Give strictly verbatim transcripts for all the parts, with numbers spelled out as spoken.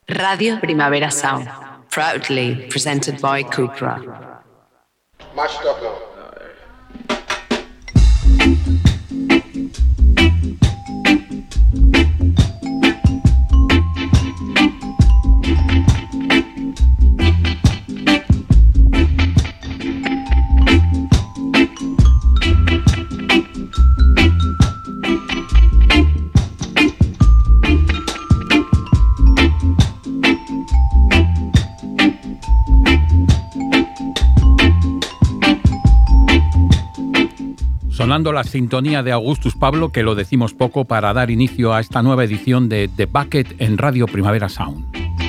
Radio Primavera Sound, proudly presented by Cupra. Mashed up now. Sonando la sintonía de Augustus Pablo, que lo decimos poco, para dar inicio a esta nueva edición de The Bucket en Radio Primavera Sound.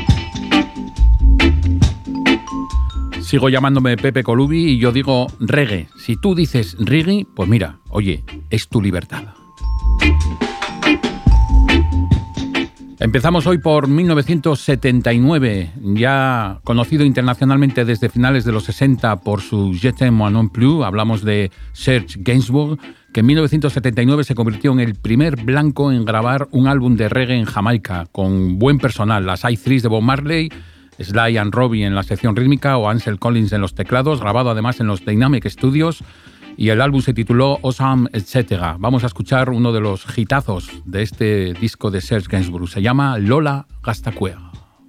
Sigo llamándome Pepe Colubi y yo digo reggae. Si tú dices reggae, pues mira, oye, es tu libertad. Empezamos hoy por mil novecientos setenta y nueve, ya conocido internacionalmente desde finales de los sesenta por su Je t'aime moi non plus. Hablamos de Serge Gainsbourg, que en mil novecientos setenta y nueve se convirtió en el primer blanco en grabar un álbum de reggae en Jamaica, con buen personal, las I tres de Bob Marley, Sly and Robbie en la sección rítmica o Ansel Collins en los teclados, grabado además en los Dynamic Studios, y el álbum se tituló Awesome, etcétera. Vamos a escuchar uno de los hitazos de este disco de Serge Gainsbourg. Se llama Lola Gastacuea.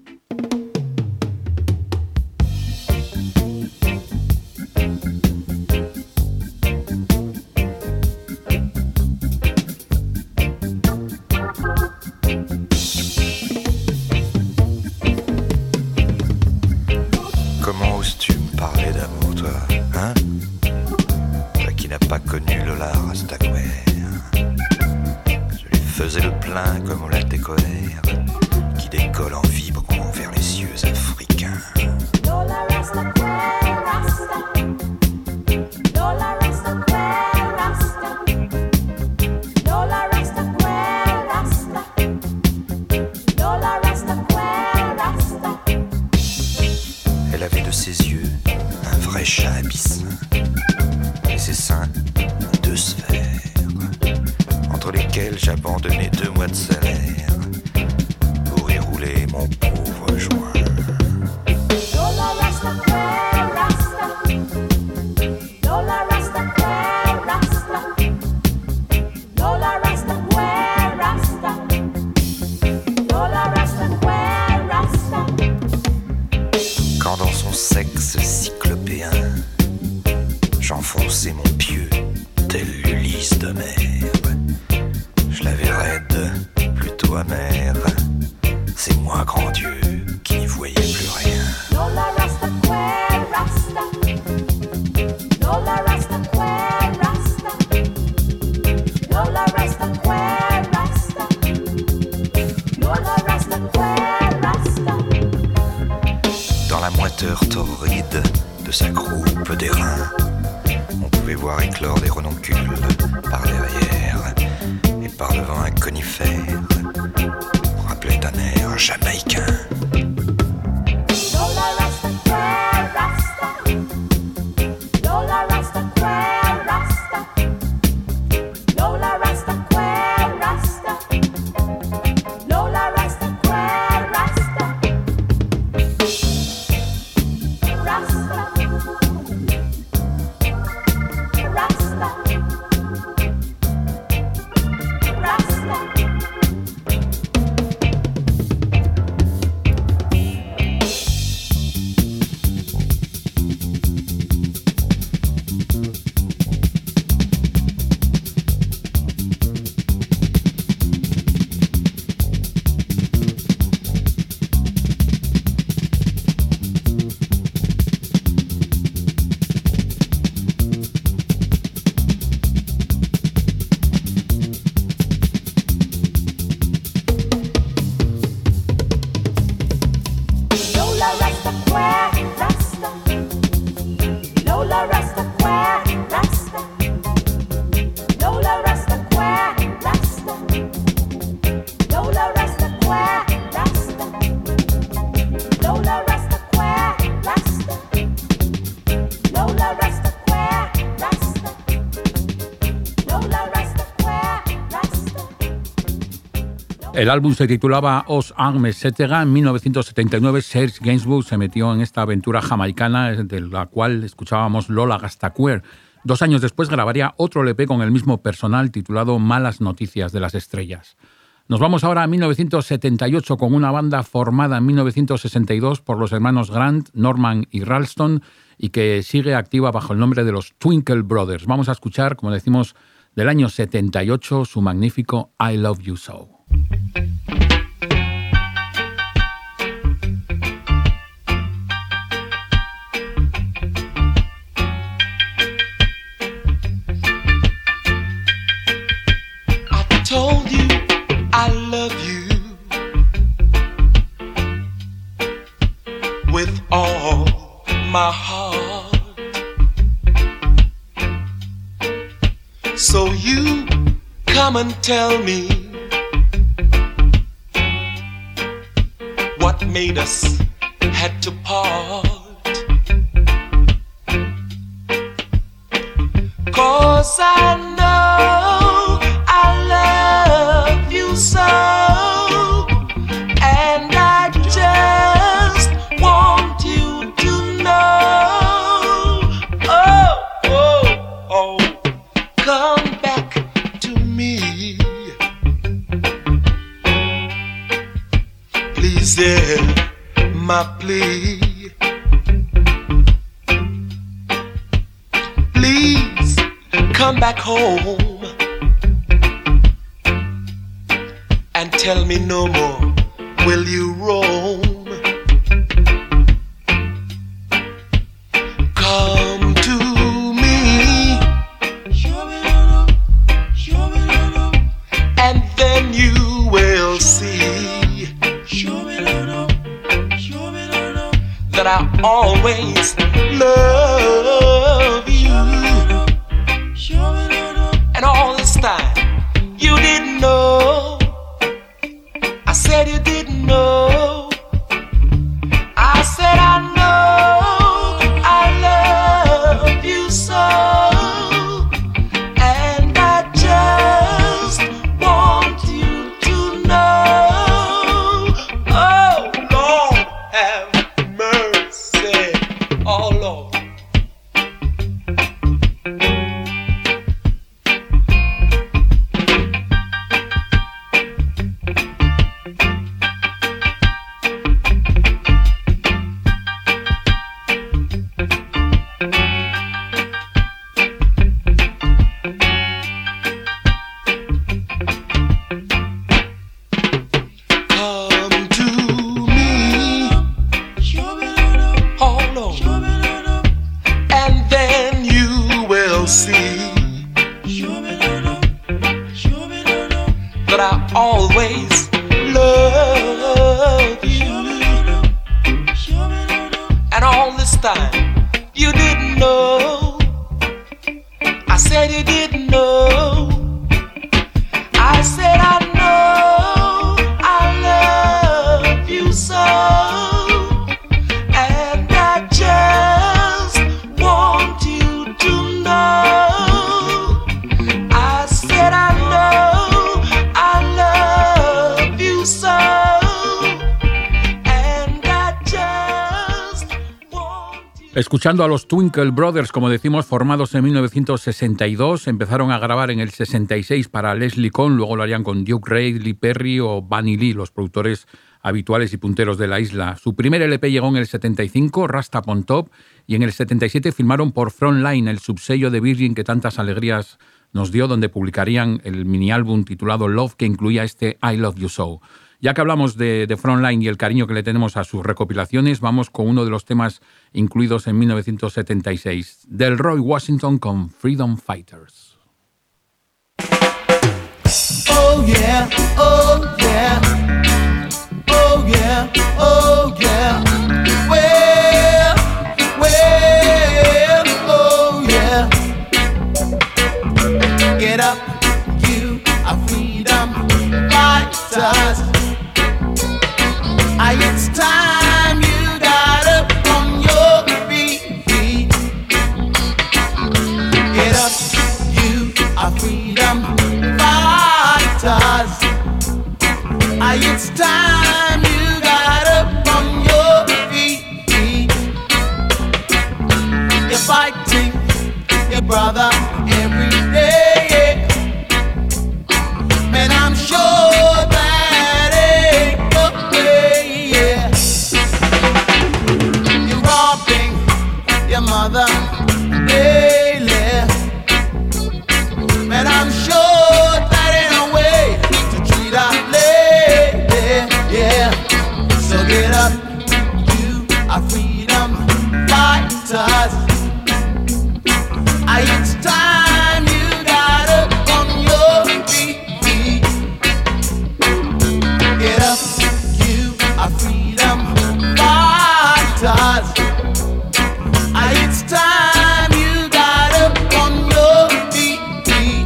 Comment oses-tu me parler d'amour, toi, hein? Qui n'a pas connu Lola Rastaquouère. Je lui faisais le plein comme on l'a découvert, qui décolle en vibrant vers les cieux africains. Lola Rastaquouère, Rasta. Lola Rastaquouère, Rasta. Lola Rastaquouère, Rasta. Lola Rastaquouère, Rasta. Elle avait de ses yeux un vrai chat abyssin. Ses seins, deux sphères, entre lesquelles j'abandonnais deux mois de salaire pour y rouler mon pauvre joint. Lola Rastaquouère, Rasta. Lola Rastaquouère, Rasta. Lola Rastaquouère, Rasta. Lola Rastaquouère, Rasta. Quand dans son sexe cyclopéen j'enfonçais mon pieu tel l'Ulysse d'Homère. Je l'avais raide, plutôt amère. C'est moi, grand Dieu, qui n'y voyais plus rien. Lola Rastaquouère, Rasta. Lola Rastaquouère, Rasta. Lola Rastaquouère, Rasta. Lola Rastaquouère, Rasta. Dans la moiteur torride de sa croupe d'airain, on pouvait voir éclore des renoncules par derrière et par devant un conifère. On rappelait un air jamaïcain. Lola Rastaquouère, Rasta. Lola Rastaquouère, Rasta. Lola Rastaquouère, Rasta. Lola Rastaquouère, Rasta. Rasta. El álbum se titulaba Os Armes, etcétera. En mil novecientos setenta y nueve, Serge Gainsbourg se metió en esta aventura jamaicana de la cual escuchábamos Lola Gastaquer. Dos años después grabaría otro L P con el mismo personal titulado Malas Noticias de las Estrellas. Nos vamos ahora a mil novecientos setenta y ocho con una banda formada en mil novecientos sesenta y dos por los hermanos Grant, Norman y Ralston y que sigue activa bajo el nombre de los Twinkle Brothers. Vamos a escuchar, como decimos, del año setenta y ocho su magnífico I Love You So. Told you I love you with all my heart, so you come and tell me what made us had to part. 'Cause I know I love you so, and I just want you to know. Oh, oh, oh, come back to me. Please hear my plea. Please come back home and tell me no more will you roam. Come to me, and then you will see that I always love you. And all this time you didn't know. I said you didn't know. I said I know I love you so, and I just want you to know. Oh Lord, have mercy. Oh Lord. Always love you, and all this time you didn't know. I said you didn't know. I said I know I love you so, and I just want you to know. I said I know. Escuchando a los Twinkle Brothers, como decimos, formados en mil novecientos sesenta y dos, empezaron a grabar en el sesenta y seis para Leslie Kohn, luego lo harían con Duke Reid, Lee Perry o Bunny Lee, los productores habituales y punteros de la isla. Su primer L P llegó en el setenta y cinco, Rasta on Top, y en el setenta y siete firmaron por Frontline, el subsello de Virgin que tantas alegrías nos dio, donde publicarían el mini álbum titulado Love, que incluía este I Love You So. Ya que hablamos de, de Frontline y el cariño que le tenemos a sus recopilaciones, vamos con uno de los temas incluidos en mil novecientos setenta y seis, del Roy Washington con Freedom Fighters. Oh yeah, oh yeah, oh yeah, oh yeah, well, well, oh yeah. Get up, you are freedom fighters. It's time you got up on your feet. Get up, you are freedom fighters. Get up, you are freedom fighters. Ah, it's time you got up on your feet. Get up, you are freedom fighters. Ah, it's time you got up on your feet.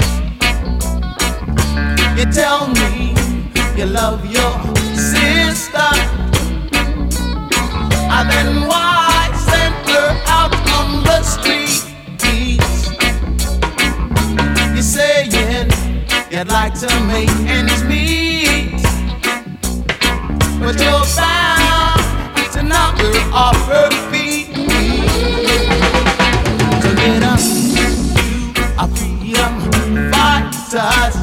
You tell me you love your sister, and then why send her out on the streets? You're saying you'd like to make ends meet, but you're bound to knock her off her feet. So get up, you are freedom fighters.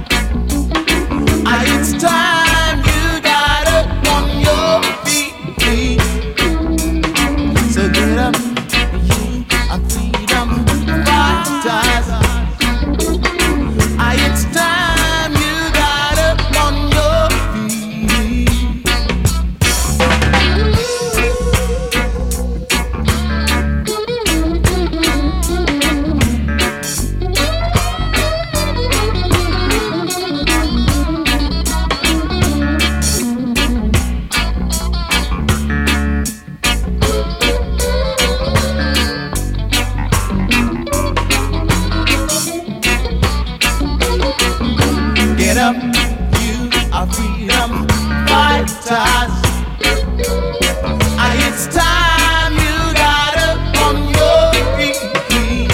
Ah, it's time you got up on your feet. So get up, you are freedom fighters. Ah, it's time you got up on your feet. Get up, you are freedom fighters. Ah, it's time you got up on your feet.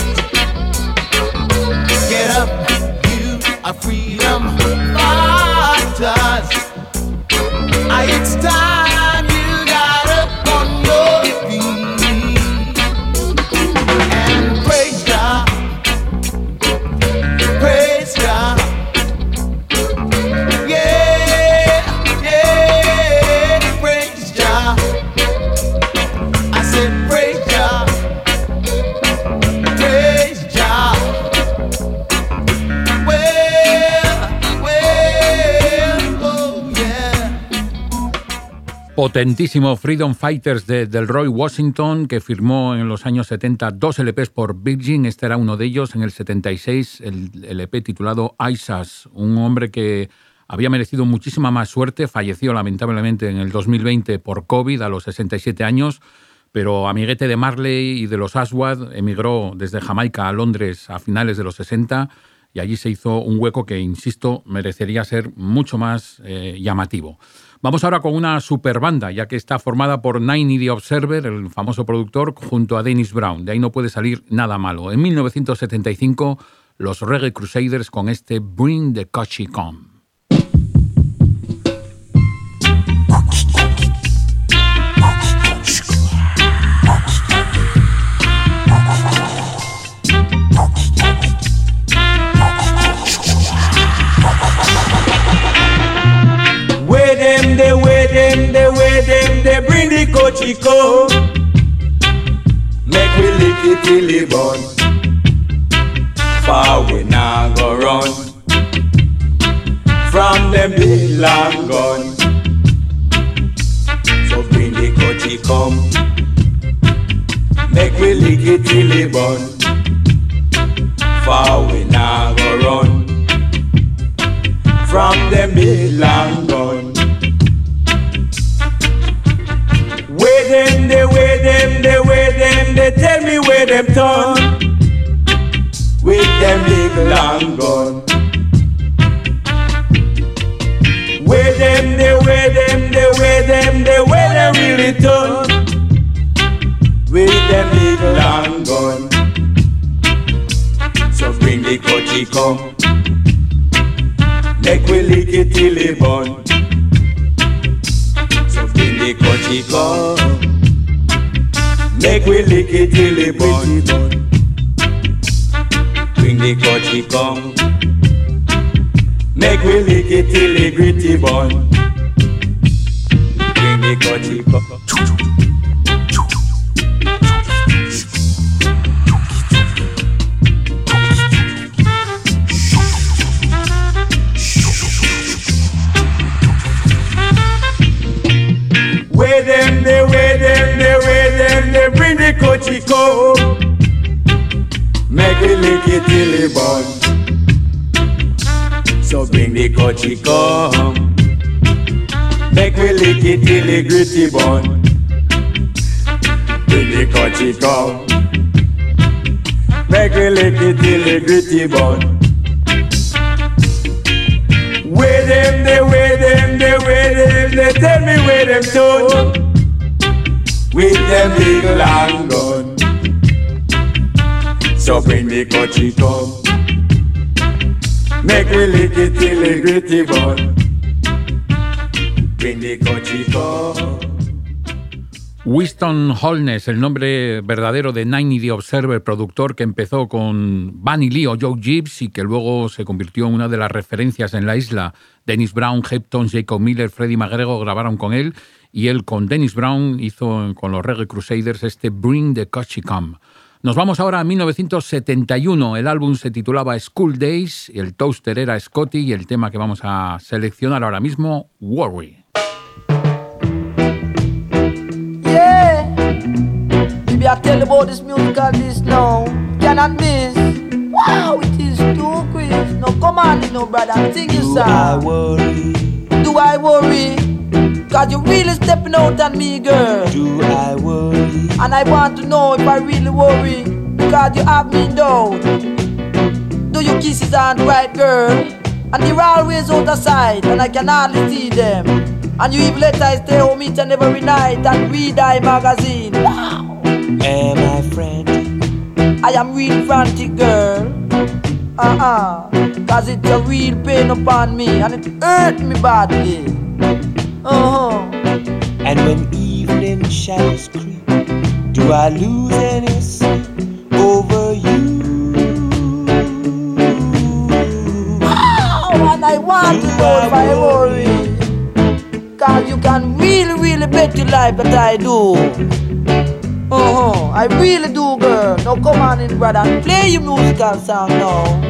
Get up, you are freedom fighters. Ah, it's time you got up on your feet. And praise God, praise God. Yeah, yeah, praise Jah. I said praise Jah, praise Jah. Well, well, oh yeah. Potentísimo Freedom Fighters de Delroy Washington, que firmó en los años setenta dos L Pes por Virgin. Este era uno de ellos. En el setenta y seis el L P titulado Isas, un hombre que había merecido muchísima más suerte. Falleció lamentablemente en el dos mil veinte por COVID a los sesenta y siete años, pero amiguete de Marley y de los Aswad, emigró desde Jamaica a Londres a finales de los sesenta y allí se hizo un hueco que, insisto, merecería ser mucho más eh, llamativo. Vamos ahora con una super banda, ya que está formada por Nine y The Observer, el famoso productor, junto a Dennis Brown. De ahí no puede salir nada malo. En mil novecientos setenta y cinco, los Reggae Crusaders con este Bring the Coachy Come. Way them, they way them, they way them, they bring the coachy come. Make we lick it till it burn. Far we now go run from them big long gun. So bring the coachy come. Make we lick it till it burn. Far we now go run from them big long gun. Way them, they way them, they way them, they tell me where them turn with them big long gun. Way them, they way them, they way them, they way them really turn with them big long gun. So bring the coachy come. Make we lick it till it burn. So bring the coachy come. Make we lick it till it burn. Bring the coachy come. Make we lick it till it gritty burn. Bring the coachy come. coachy come. Make we lick it till the gritty bun. Bring the coachy come. Make we lick it till the gritty bun. Where them, they where them, they where them, they tell me where them turn. With them big long gun. So bring the coachy come. Make we lick it till the gritty bun. Bring the coachy come. Winston Holness, el nombre verdadero de Niney The Observer, productor que empezó con Bunny Lee o Joe Gibbs y que luego se convirtió en una de las referencias en la isla. Dennis Brown, Hepton, Jacob Miller, Freddie McGregor grabaron con él y él con Dennis Brown hizo con los Reggae Crusaders este Bring the Coachy Come. Nos vamos ahora a mil novecientos setenta y uno. El álbum se titulaba School Days, el toaster era Scotty y el tema que vamos a seleccionar ahora mismo, Worry. Maybe I tell about this musical this now. Cannot miss. Wow, it is too quick. No, come on, you know, brother, sing your song. Do I worry? Do I worry? Cause you're really stepping out on me, girl. Do I worry? And I want to know if I really worry. Because you have me down. Do your kisses aren't right, girl? And they're always out of sight, and I can hardly see them. And you even let I stay home each and every night and read thy magazine. Wow! Am I frantic? I am real frantic, girl. Uh-uh. Cause it's a real pain upon me and it hurt me badly. Uh-huh. And when evening shadows creep, do I lose any sleep over you? Wow! And I want do to know if I worry? worry. Cause you can really, really bet your life that I do. Uh-huh, I really do, girl. Now come on in, brother, and play your musical song now.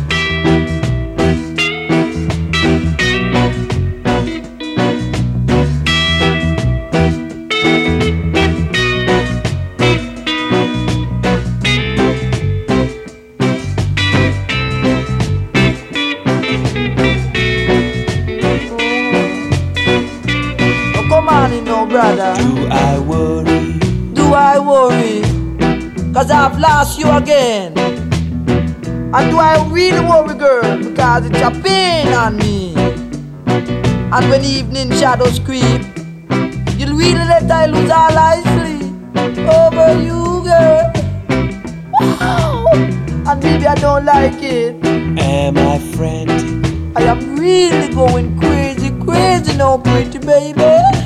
Now come on in, now, brother. Do I worry? Do I worry? Cause I've lost you again. And do I really worry, girl? Because it's a pain on me. And when evening shadows creep, you'll really let I lose all I sleep over you, girl. Wow! And maybe I don't like it. Am I frantic? I am really going crazy, crazy now, pretty baby.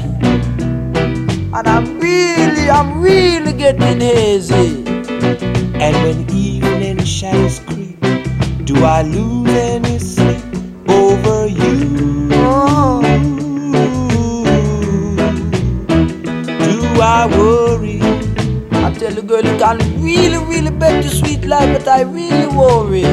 And I'm really, I'm really getting hazy. And when evening shadows creep, do I lose any sleep over you? Oh. Do I worry? I tell you, girl, you can really, really bet your sweet life, but I really worry.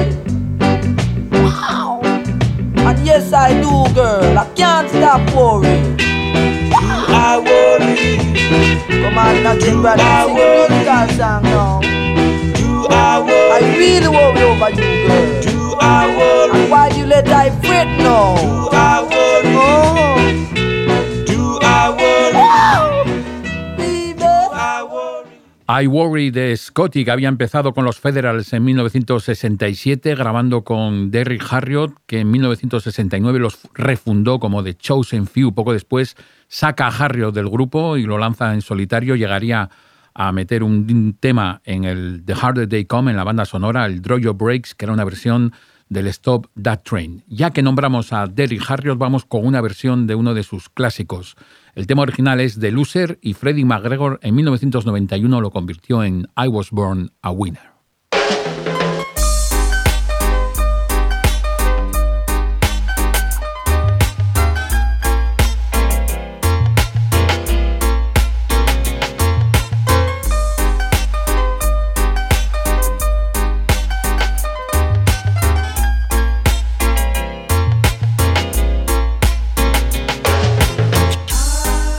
Wow! And yes, I do, girl. I can't stop worrying. Do I worry? Come on, now, sing, brother, sing a musical song now. Do I worry? I really worry over you, girl. Do I worry? And why you let I fret now? Do I worry? Oh. Do I worry? Wow. Baby. Do I worry? I Worry de Scotty, que había empezado con los Federals en mil novecientos sesenta y siete, grabando con Derrick Harriott, que en mil novecientos sesenta y nueve los refundó como The Chosen Few. Poco después saca a Harriott del grupo y lo lanza en solitario. Llegaría a meter un tema en el The Harder They Come, en la banda sonora, el Draw Your Brakes, que era una versión del Stop That Train. Ya que nombramos a Derrick Harriott, vamos con una versión de uno de sus clásicos. El tema original es The Loser y Freddie McGregor en mil novecientos noventa y uno lo convirtió en I Was Born a Winner.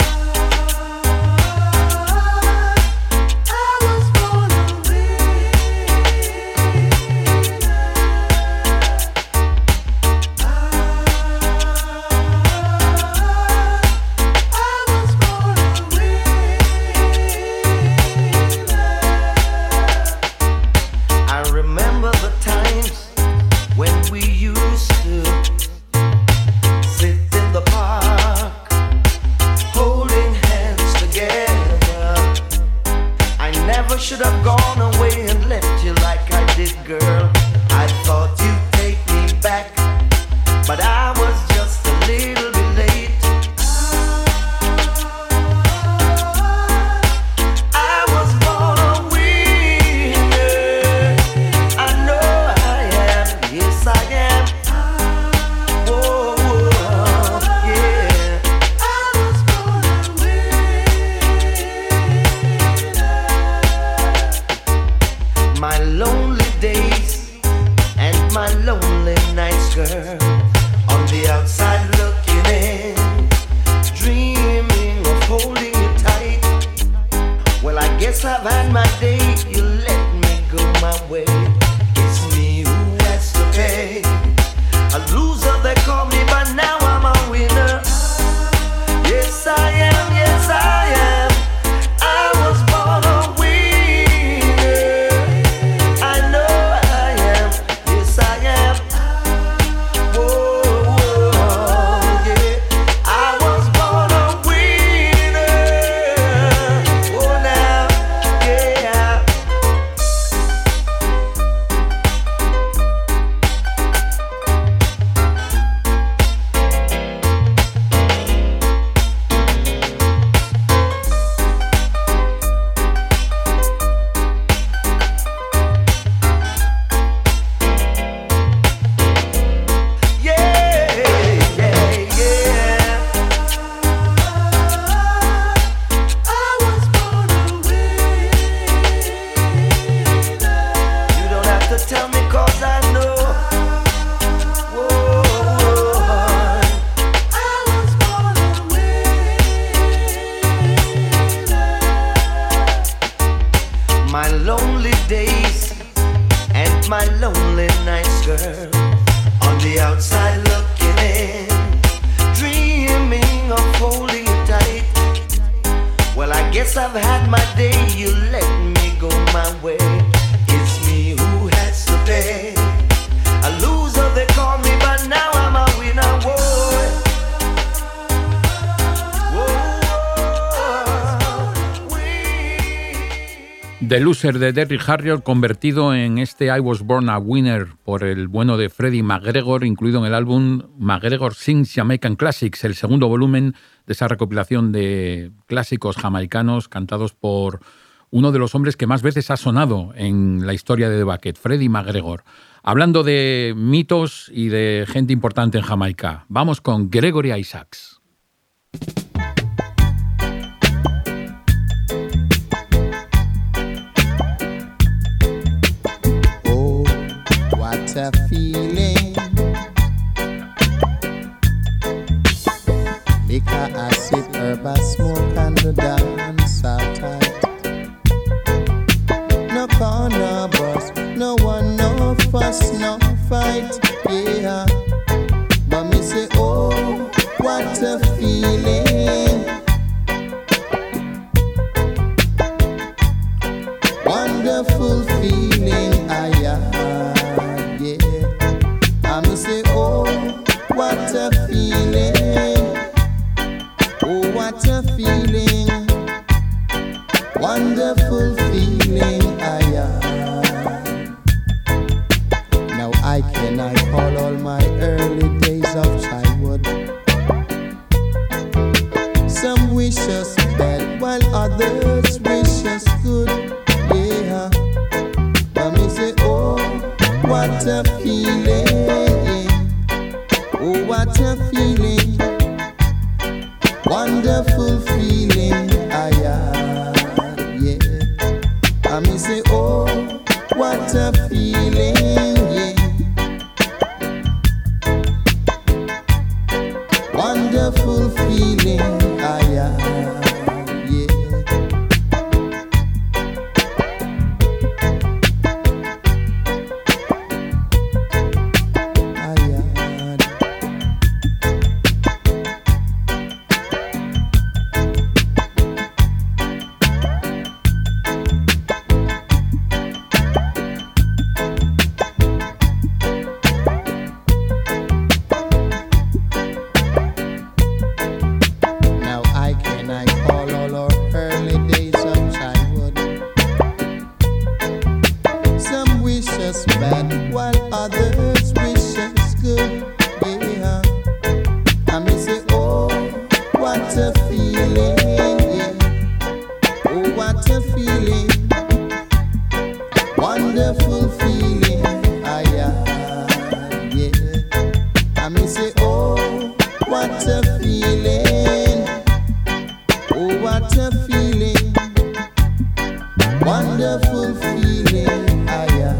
I was born a winner. should have gone away and left you like I did, girl. I thought you'd take me back, but I was just a little bit late. I was born a winner. I know I am, yes I am. Whoa, whoa, yeah. I was born a winner. My lonely days and my lonely nights, girl, on the outside looking in, dreaming of holding you tight. Well, I guess I've had my day, you let me go my way. It's me who has to pay. A loser they call me, but now I'm a winner. Yes I am, yes I am. I was born a winner. I know I am, yes I am. Whoa, whoa, yeah. I was born a winner. Oh now, yeah. Yeah, yeah, yeah. I was born a winner. You don't have to tell me 'cause I know. Whoa, I was born a winner. My lonely days and my lonely nights, girl, on the outside looking in, dreaming of holding you tight. Well, I guess I've had my day, you let me go my way. It's me who has to pay. A loser they call me, but now I'm a winner, boy. Whoa, win. The Loser de Derrick Harriott, convertido en este I Was Born a Winner por el bueno de Freddie McGregor, incluido en el álbum McGregor Sings Jamaican Classics, el segundo volumen de esa recopilación de clásicos jamaicanos cantados por uno de los hombres que más veces ha sonado en la historia de The Bucket, Freddie McGregor. Hablando de mitos y de gente importante en Jamaica, vamos con Gregory Isaacs. Oh, what a feeling. Liquor, acid, herb, a smoke, and the dance are tight. No corner bus, no one, no fuss, no fight, yeah. But me say, oh, what a feeling. Wonderful feeling, I had, yeah. I me say, oh, what a feeling. Oh, what a feeling. Wonderful feeling, I had. Now I cannot call all my early days of childhood. Some wish us bad while others wish us good. Yeah, but me say, oh, what a feeling. Oh, what a feeling. Wonderful feeling, I had, yeah. I me say, oh, what a feeling, yeah. Wonderful feeling, I had, yeah. feeling, wonderful feeling. Aya,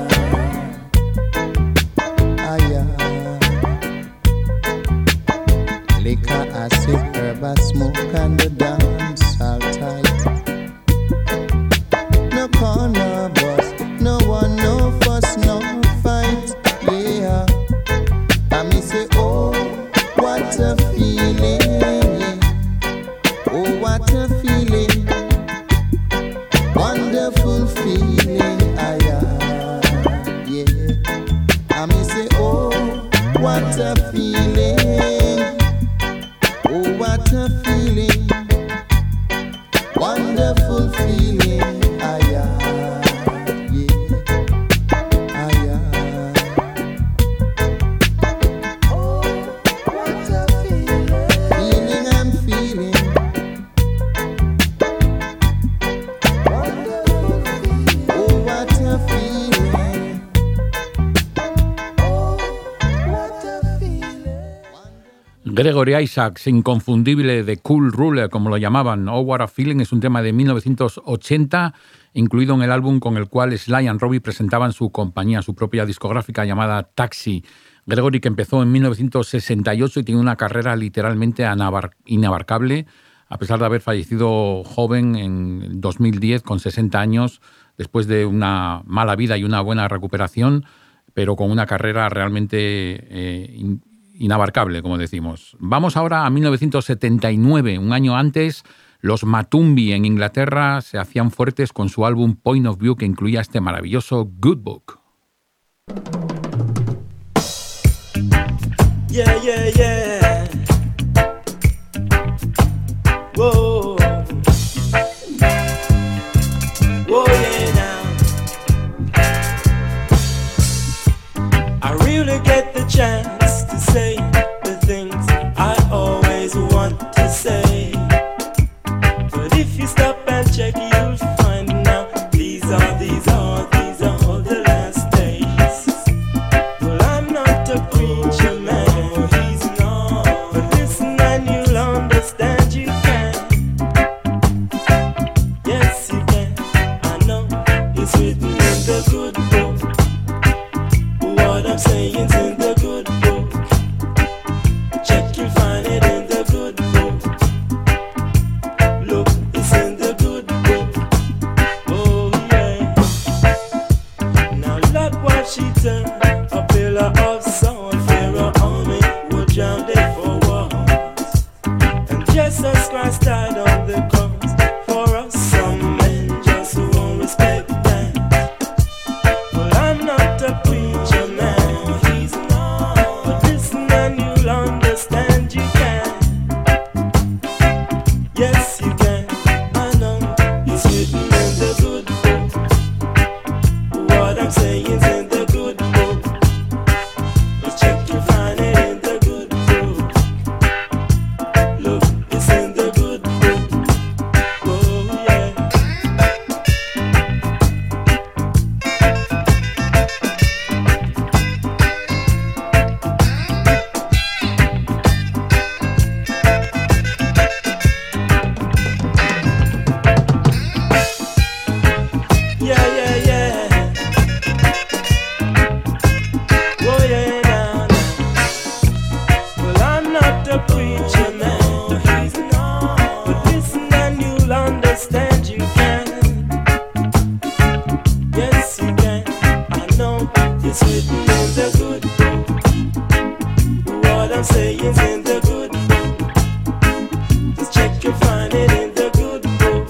aya. Liquor, acid, herb, and smoke, and the dance all tight. No corner bus, no one, no fuss, no fight. Yeah, I me say, oh, what a feeling. Oh, what a feeling. Wonderful feeling. Ah, yeah, yeah. I me say, oh, what a feeling. Oh, what a feeling. Wonderful feeling. Ah, yeah, yeah. Ah, yeah. Oh, what a feeling. Feeling I'm feeling. Wonderful feeling. Oh, what a feeling. Oh, what a feeling. Gregory Isaacs, inconfundible, de Cool Ruler, como lo llamaban. Oh, What a Feeling es un tema de mil novecientos ochenta, incluido en el álbum con el cual Sly and Robbie presentaban su compañía, su propia discográfica llamada Taxi. Gregory, que empezó en mil novecientos sesenta y ocho y tiene una carrera literalmente anabar- inabarcable, a pesar de haber fallecido joven en dos mil diez, con sesenta años, después de una mala vida y una buena recuperación, pero con una carrera realmente eh, in- inabarcable, como decimos. Vamos ahora a mil novecientos setenta y nueve, un año antes. Los Matumbi en Inglaterra se hacían fuertes con su álbum Point of View, que incluía este maravilloso Good Book. Yeah, yeah, yeah. Whoa. Whoa, yeah, now. I really get the chance to say the things I always want to say. But if you stop and check, you'll find now these are, these are, these are all the last days. Well, I'm not a preacher man, he's not. But listen and you'll understand you can. Yes, you can. I know it's written in the good book. What I'm saying's in the good book. Check, you'll find it in the good book. Look, it's in the good book. Oh yeah. Now look what she done. A pillar of salt, Pharaoh army would drown it for walls. And Jesus Christ died on the cross for us. Some men just won't respect that. Well, I'm not a preacher man, he's not. But listen and you'll understand you can. Yes, you can. I know it's written in the good book. What I'm saying's in the good book. But check, you find it in the good book. Look, it's in the good book. Oh yeah. Yeah, yeah, yeah. Oh yeah, now, now. Well, I'm not a preacher man, he's not. But listen and you'll understand you can. Yes, you can. I know it's written in the good book. What I'm saying's in the good book. Just check, you'll find it in the good book.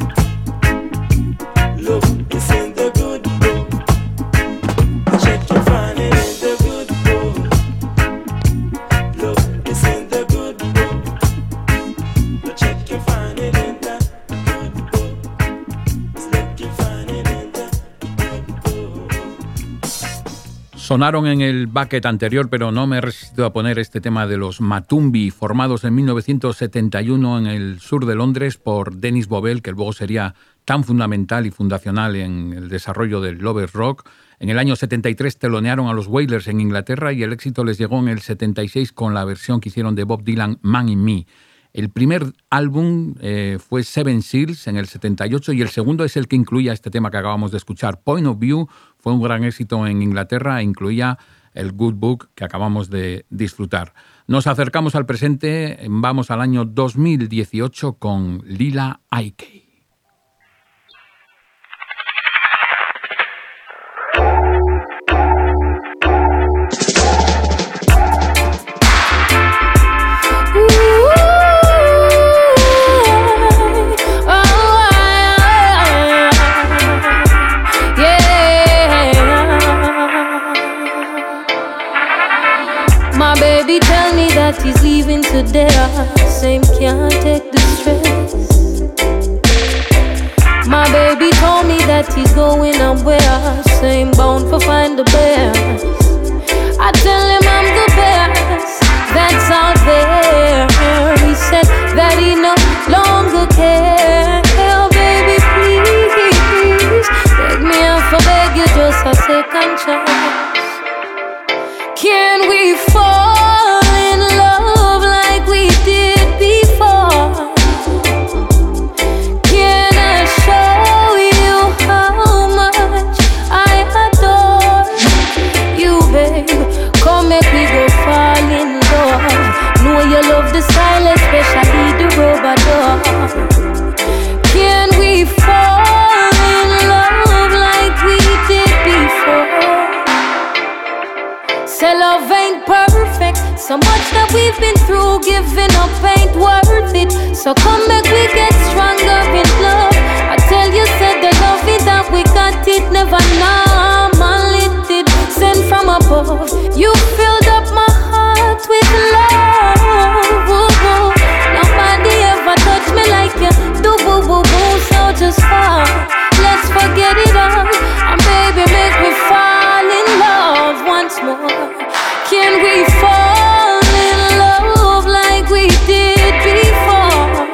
Look, it's in the good book. Check, you'll find it in the good book. Look, it's in the good book. Check, you'll find it in the good book. Look, you'll find it in the good book. Sonaron en el bucket anterior, pero no me he resistido a poner este tema de los Matumbi, formados en mil novecientos setenta y uno en el sur de Londres por Dennis Bovell, que luego sería tan fundamental y fundacional en el desarrollo del Lovers Rock. En el año setenta y tres telonearon a los Wailers en Inglaterra y el éxito les llegó en el setenta y seis con la versión que hicieron de Bob Dylan, Man in Me. El primer álbum eh, fue Seven Seals en el setenta y ocho y el segundo es el que incluía este tema que acabamos de escuchar. Point of View fue un gran éxito en Inglaterra e incluía el Good Book que acabamos de disfrutar. Nos acercamos al presente, vamos al año dos mil dieciocho con Lila Ike. He's leaving today, same can't take the stress. My baby told me that he's going somewhere, same bound for find the best. I tell him I'm the best that's out there. He said that he no longer cares. Oh baby please, beg me up for beg you just a second chance. Can we fall? You love the style, especially the rubber dog. Can we fall in love like we did before? Say love ain't perfect, so much that we've been through, giving up ain't worth it. So come back, we get stronger in love. I tell you, said the love it that we got it, never normal it did. Sent from above, you filled up my heart with love. Nobody ever touched me like you do, boo boo boo. So just fall, let's forget it all, and baby make me fall in love once more. Can we fall in love like we did before?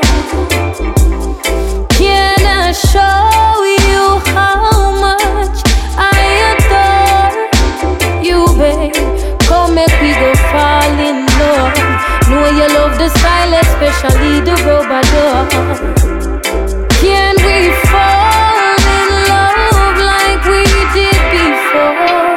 Can I show you how much I adore you, babe? Come make we go fall in love. Know you love the style, especially the rubber dog. Can we fall in love like we did before?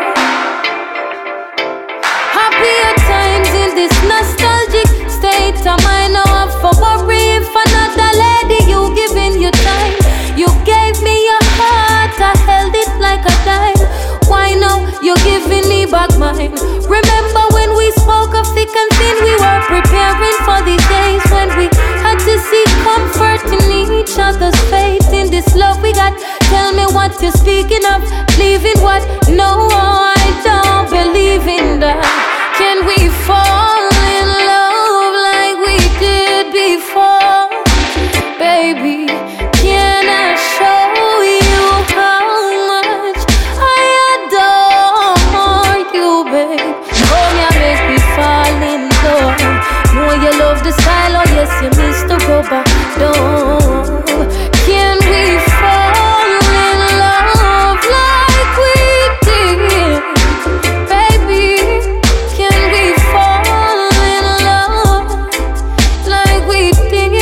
Happier times in this nostalgic state of mind. Now I'm for worry if another lady you giving your time. You gave me your heart, I held it like a dime. Why now you're giving me back mine? Remember when we spoke of thick and thin, we were preparing for the days when we had to seek comfort in each other's faith. In this love we got, tell me what you're speaking of. Believing what? No, I don't believe in that. Can we fall in love like we did before? Baby, can I show you how much I adore you, babe? Come here, make me fall in love. Know you love the style, oh yes, you miss the rubber dog. Can we fall in love like we did? Baby, can we fall in love like we did?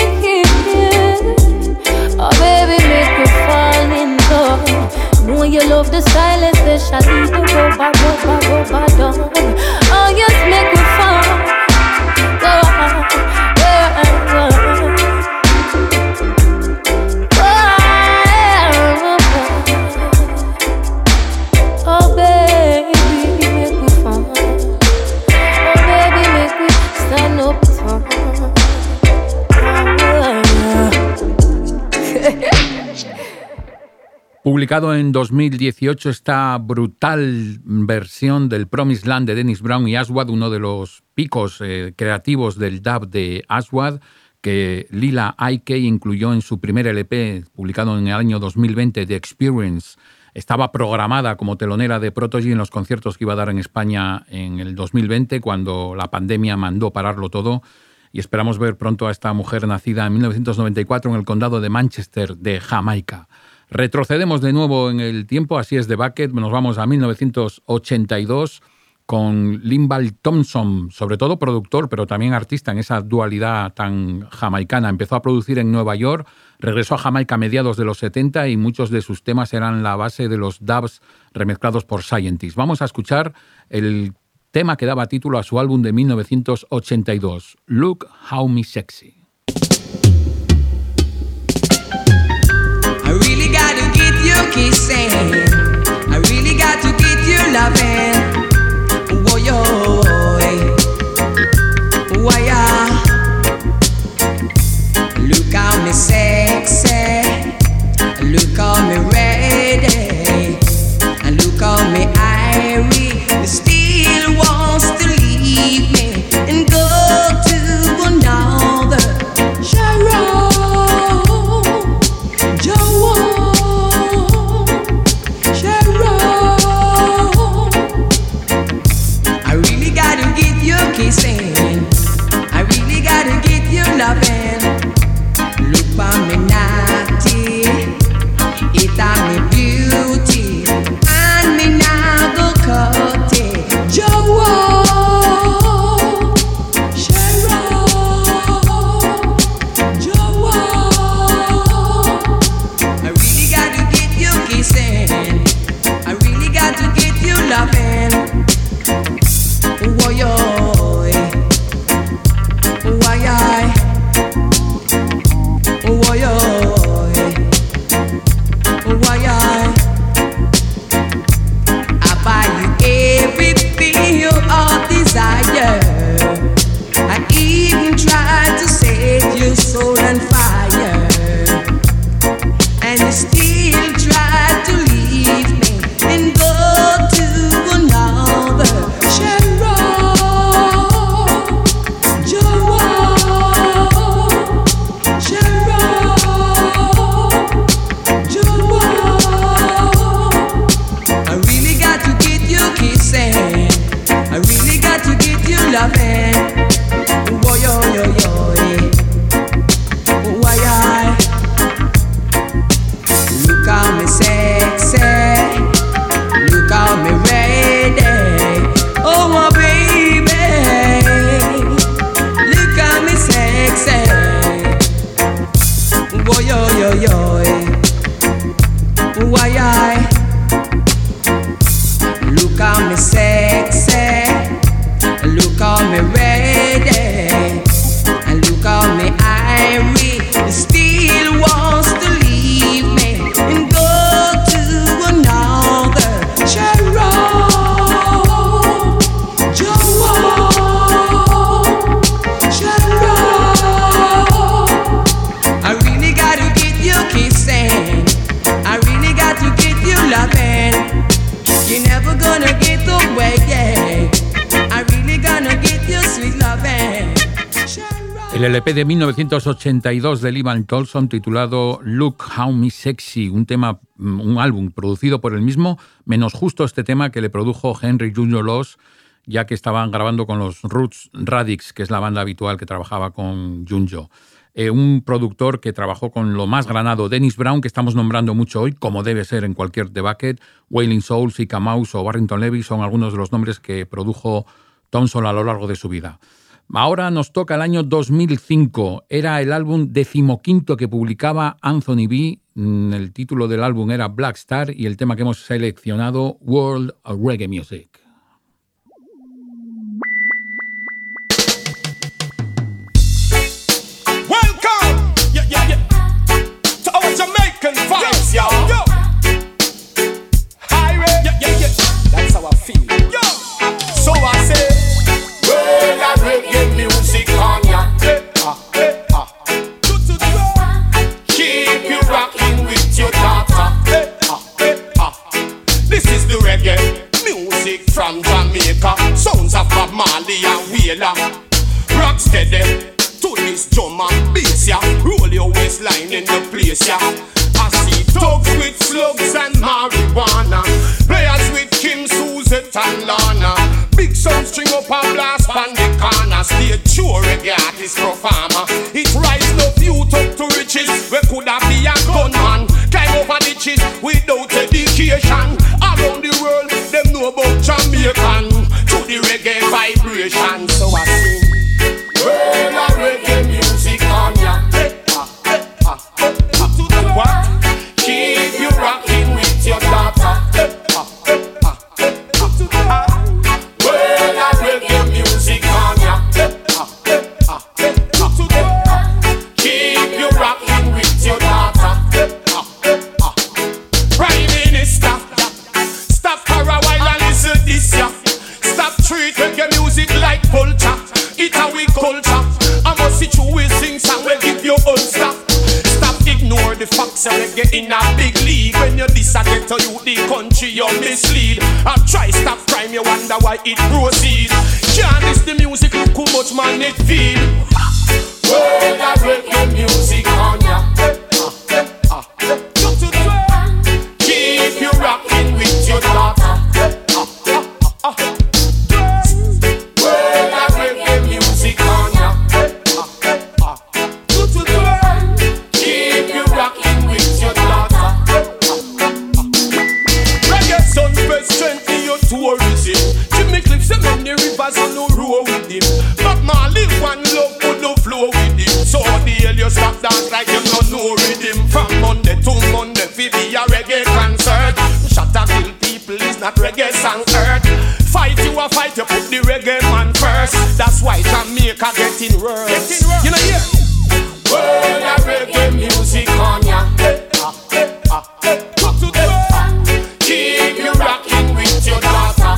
Oh baby, make me fall in love. Know you love the style, especially the rubber, rubber, rubber dog. Oh yes, make me fall. Oh baby, make me fall. Oh baby, make me stand up tall. Publicado en dos mil dieciocho esta brutal versión del Promised Land de Dennis Brown y Aswad, uno de los picos eh, creativos del dub de Aswad, que Lila Ike incluyó en su primer L P, publicado en el año dos mil veinte, The Experience. Estaba programada como telonera de Prodigy en los conciertos que iba a dar en España en el dos mil veinte, cuando la pandemia mandó pararlo todo, y esperamos ver pronto a esta mujer nacida en mil novecientos noventa y cuatro en el condado de Manchester, de Jamaica. Retrocedemos de nuevo en el tiempo, así es, de Bucket, nos vamos a mil novecientos ochenta y dos con Linval Thompson, sobre todo productor, pero también artista en esa dualidad tan jamaicana. Empezó a producir en Nueva York, regresó a Jamaica a mediados de los setenta y muchos de sus temas eran la base de los dubs remezclados por Scientist. Vamos a escuchar el tema que daba título a su álbum de mil novecientos ochenta y dos, Look How Me Sexy. I really gotta get you kissing. I really got to get you loving. Why, why, look how me sexy, look how me ready, and look how me irie. Still wants to leave me and go to another. Sharon, Joe, Sharon. I really gotta get you kissing. I really gotta get you loving. Look for me naughty, it on me beauty, and me now go cut it. Joe, Sharon, Joe. I really gotta get you kissing. I really got to get you loving. Why, why, why, why, I buy you everything you all desire. I even try to set your soul on fire, and you still try to leave me and go to another. Loving, why yo yo yo, why I look how me sexy, look how me ready, oh my baby, look how me sexy, why yo yo yo, why I look how me sexy. Look how me ready, and look how me irie. Still wants to leave me and go to another. Sharon, Joe, Sharon. I really got to get you kissing. I really got to get you loving. You're never gonna get away, yeah. El L P de mil novecientos ochenta y dos de Linval Thompson titulado Look How Me Sexy, un tema, un álbum producido por él mismo, menos justo este tema que le produjo Henry junior Laws, ya que estaban grabando con los Roots Radics, que es la banda habitual que trabajaba con Junjo. Eh, un productor que trabajó con lo más granado, Dennis Brown, que estamos nombrando mucho hoy, como debe ser en cualquier The Bucket, Wailing Souls, Sika Mouse o Barrington Levy son algunos de los nombres que produjo Thompson a lo largo de su vida. Ahora nos toca el año dos mil cinco. Era el álbum decimoquinto que publicaba Anthony B. El título del álbum era Black Star y el tema que hemos seleccionado, World of Reggae Music. Welcome, yeah, yeah, yeah, to our Jamaican vibes, yo, yo. Highway, yeah, yeah, yeah. That's how I feel, yo. So I say, world of reggae music on ya. Hey, ah, hey, ah. Keep you rocking with your daughter. Hey, ah, hey, ah. This is the reggae music from Jamaica. Sounds of Bob Marley and Wheeler. Rock steady to this drum and bass, ya. Roll your waistline in the place, ya. I see thugs with slugs and marijuana, players with Kim, Suzette and Lana. Big sound string up and blast on the corner. Stay true reggae artist performer. It rise no youth up to riches. We coulda be a gunman, climb over ditches without education. Around the world, them know about Jamaican. To the reggae vibration. So I sing, well, a reggae music on ya. What? Keep you rocking with your daughter. Well, a reggae music on ya. Keep you rocking with your daughter. Prime Minister, stop for a while and listen this ya. Stop treat reggae music like culture. It's a we culture. I must see you will sing song will give you own stuff. Ignore the facts and reggae in a big league. When you disagree to you, the country you mislead. I try stop crime, you wonder why it proceed. Can't miss the music, look how much man it feel. Well, that reggae music on ya. Keep you rocking with your daughter. Well, that reggae music on ya. Tourism. Jimmy Cliff and many rivers on no row with him. But Marley one love would no flow with him. So the hell you stop dance like you not know rhythm. From Monday to Monday, fi be a reggae concert. Shut up, kill people is not reggae song earth. Fight you a fight, you put the reggae man first. That's why Jamaica getting worse. You know yeah. Well, that reggae music on ya. Keep you rocking with your daughter.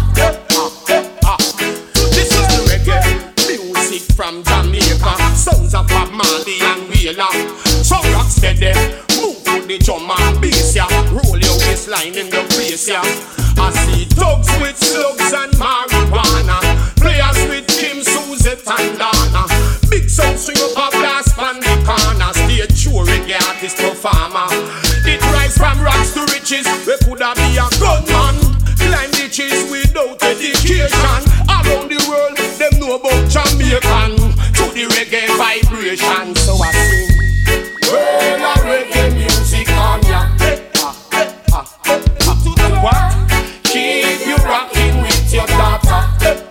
This is the reggae music from Jamaica. Sounds of Bob Marley and Wheeler. So rock steady, move to the drum and bass ya. Roll your waistline in the place ya. I see dogs with slugs and marijuana. Players with Kim, Suzette and Dana. Big sound swing up a blast pan the corner. Stay true reggae artist performer. It rise from rocks to riches. We coulda be a gunman. Climb ditches without education. Around the world, them know about Jamaican. To the reggae vibration. So I sing, well, a reggae music on ya. What? Keep you rocking with your daughter.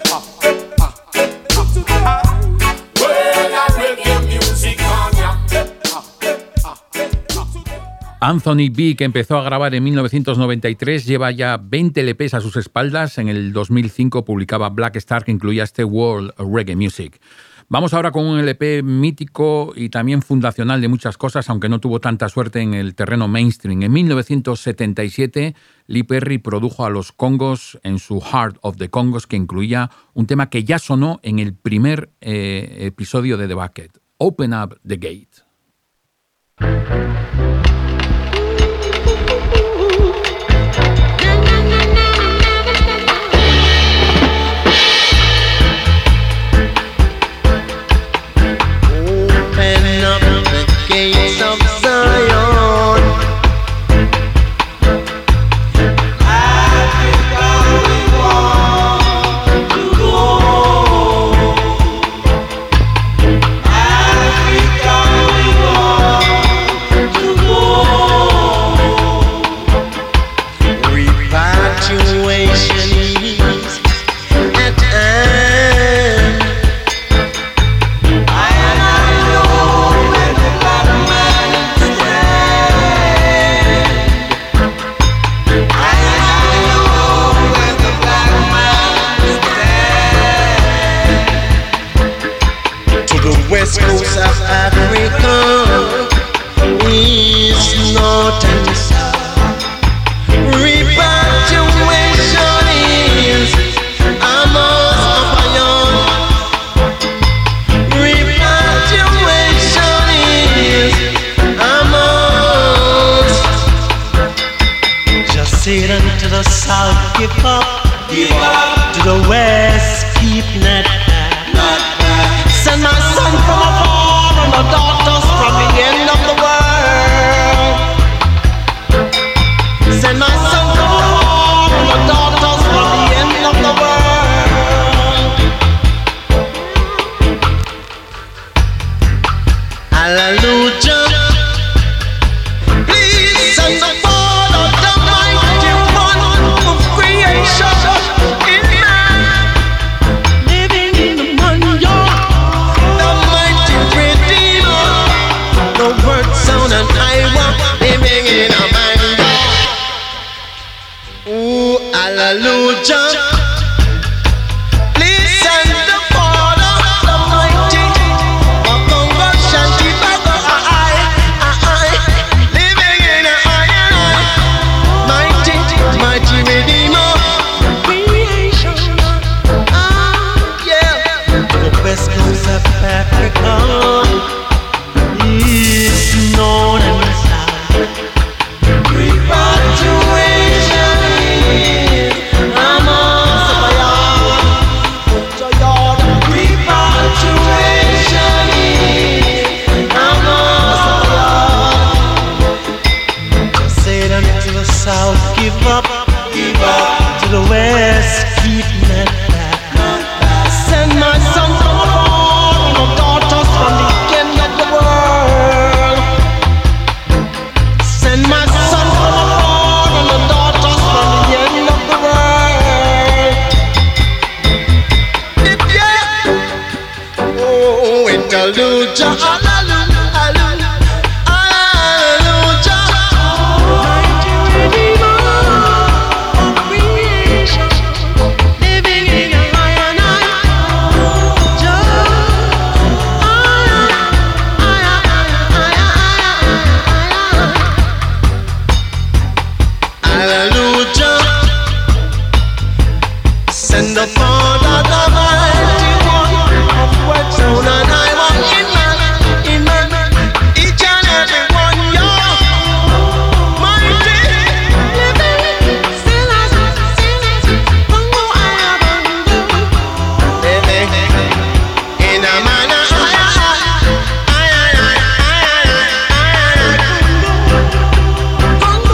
Well, a reggae music on ya. Anthony B, que empezó a grabar en mil novecientos noventa y tres, lleva ya veinte L Pes a sus espaldas. En el dos mil cinco publicaba Black Star, que incluía este World Reggae Music. Vamos ahora con un L P mítico y también fundacional de muchas cosas, aunque no tuvo tanta suerte en el terreno mainstream. En mil novecientos setenta y siete, Lee Perry produjo a los Congos en su Heart of the Congos, que incluía un tema que ya sonó en el primer eh, episodio de The Bucket, Open Up the Gate. Gates of Zion. Africa, we want to go. Africa, we want to go. Repatriation is at hand. West coast of Africa, east, north and south. Repatriation is a must upon. Repatriation is a must. Just say it unto the south, give up, give up. To the west, keep not back. Send my son from afar and my daughters from the end of the world. Send my son from afar and my daughters from the end of the world. Hallelujah. Please send the Father, the mighty one of creation. Amen. Hallelujah. Please send the Father, the mighty, Makongo Shanti Bago, I, I, living in a iron, mighty, mighty Redeemer, creation. Ah, yeah. The West Coast of Africa is known as South, give up, give up to the West, keep not back. Send my son from abroad, my daughters from the end of the world. Send my son from abroad, and the daughters from the end of the world. Yeah. Oh, Hallelujah, hallelujah, hallelujah. Send the Father, the mighty one of what's on and I want in man, in man, each and every one, yo, mighty, living, still as I still as Bongo I Bongo, living in a manner, I, I, I, I, I, I, Bongo,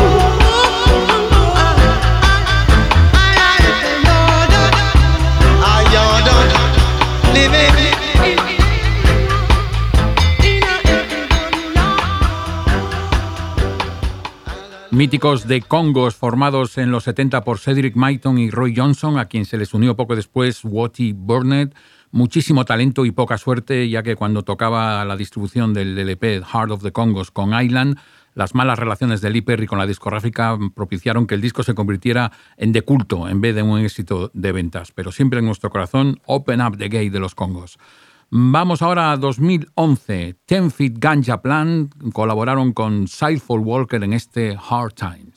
Míticos de congos formados en los setenta por Cedric Myton y Roy Johnson, a quien se les unió poco después Wattie Burnett. Muchísimo talento y poca suerte, ya que cuando tocaba la distribución del L P Heart of the Congos con Island, las malas relaciones de Lee Perry con la discográfica propiciaron que el disco se convirtiera en de culto en vez de un éxito de ventas. Pero siempre en nuestro corazón, Open Up the Gate de los Congos. Vamos ahora a dos mil once. Ten Feet Ganja Plan colaboraron con Sightful Walker en este Hard Times.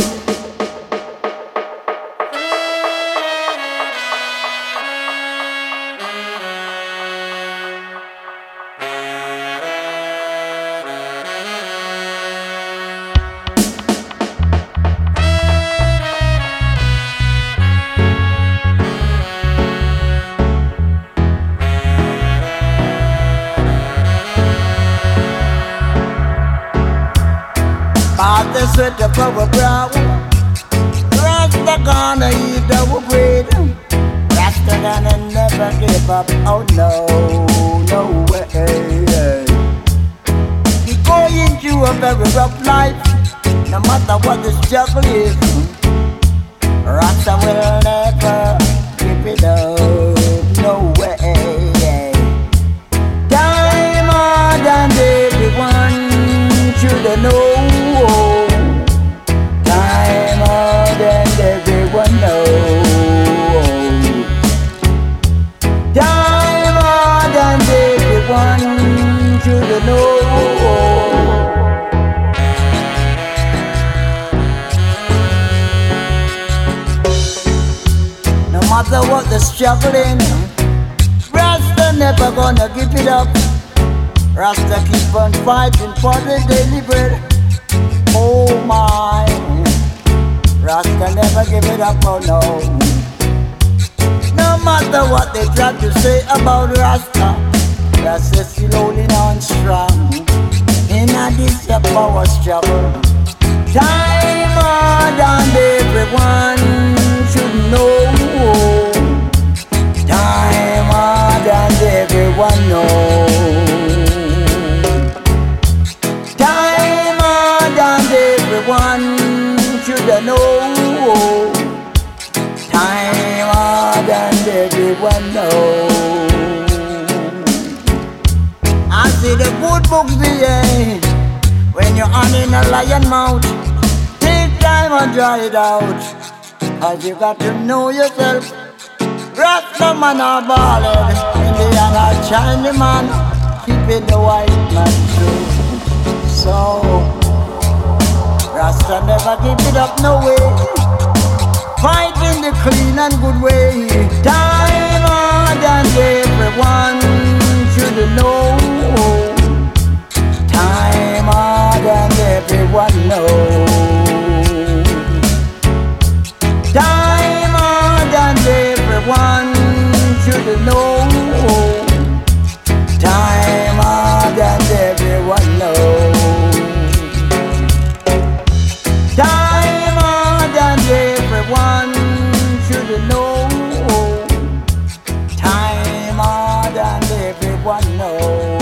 Sweat up our brow, Rasta gonna eat our bread. Rasta gonna never give up, oh no, no way. We going through a very rough life, no matter what the struggle is. Rasta will never give it up, no way. Time more than everyone should know. Everyone knows. Time more than everyone should know. No matter what the struggling, Rasta never gonna give it up. Rasta keep on fighting for the daily bread. Oh my, Rasta never give it up, oh no. No matter what they try to say about Rasta, Rasta still holding on strong in a this power struggle. Time more than everyone should know. Time more than everyone knows. Time more than everyone should know. Time more than everyone knows. I see the good books say, when you're on in a lion mouth, take time and dry it out. Cause you got to know yourself. Rasta man are ballin', Indian or Chinese man, keeping the white man true. So, Rasta never give it up no way, fighting the clean and good way. Time hard and everyone should know. Time hard and everyone know. Time hard and everyone should know. Time hard and everyone know. Time hard and everyone should know. Time hard and everyone know.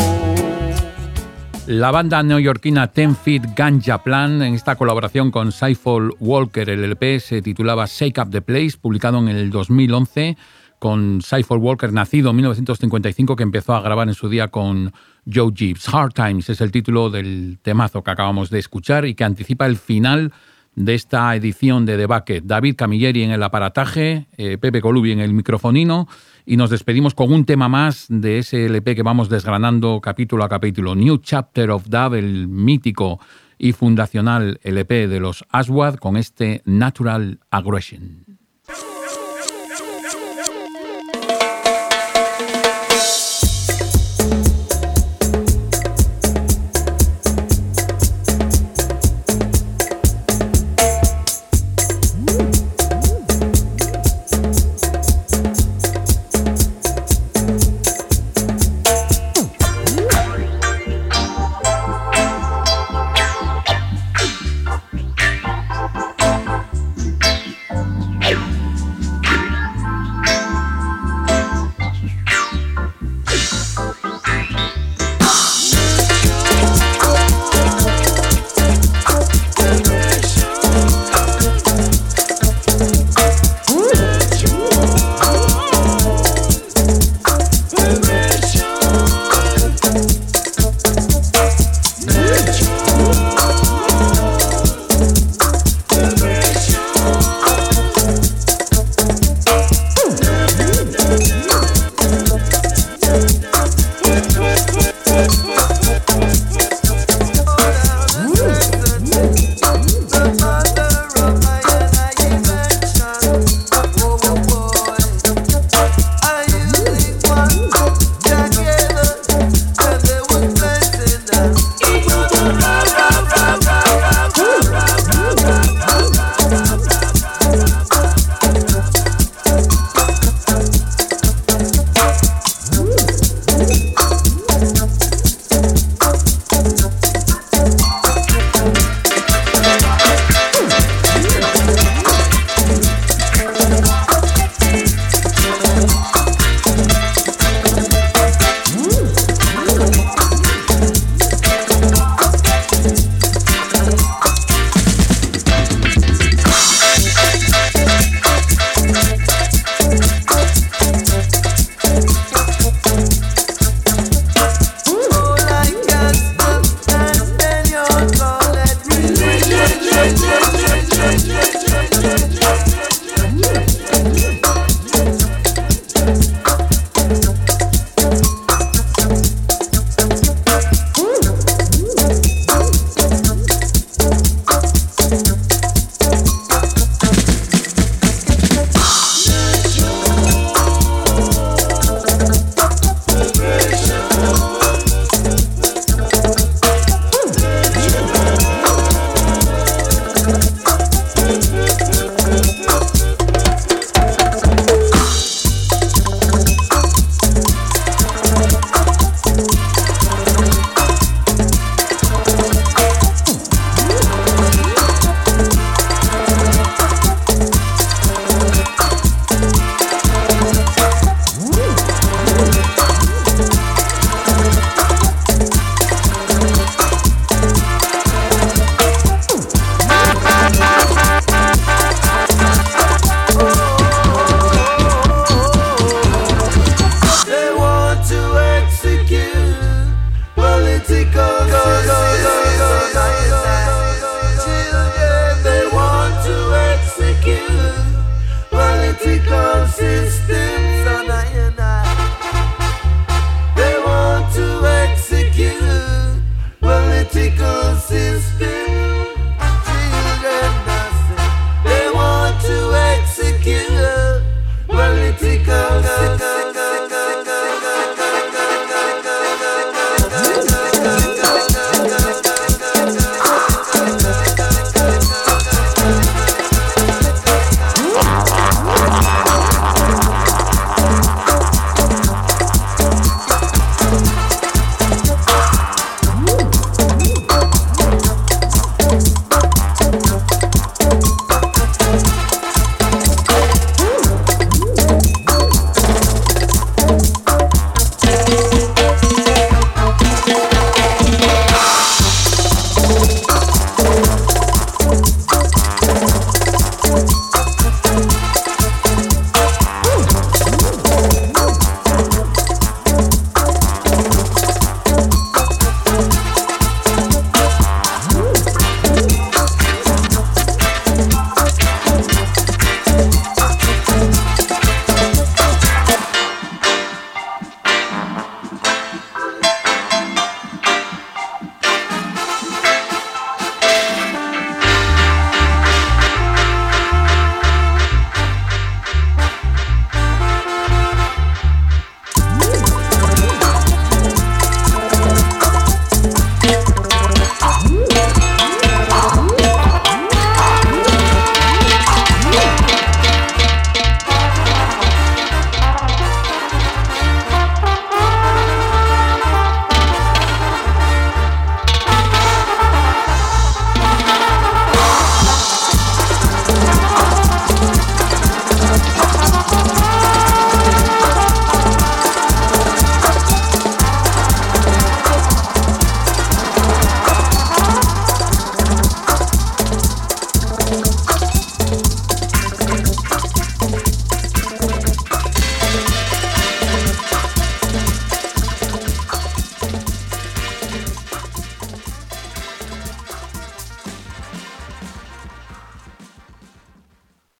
La banda neoyorquina Ten Feet Ganja Plan, en esta colaboración con Cypher Walker, el L P se titulaba Shake Up the Place, publicado en el dos mil once, con Cypher Walker, nacido en mil novecientos cincuenta y cinco, que empezó a grabar en su día con Joe Gibbs. Hard Times es el título del temazo que acabamos de escuchar y que anticipa el final de esta edición de The Bucket. David Camilleri en el aparataje, eh, Pepe Colubi en el microfonino, y nos despedimos con un tema más de ese L P que vamos desgranando capítulo a capítulo. New Chapter of Dub, el mítico y fundacional L P de los Aswad, con este Natural Aggression.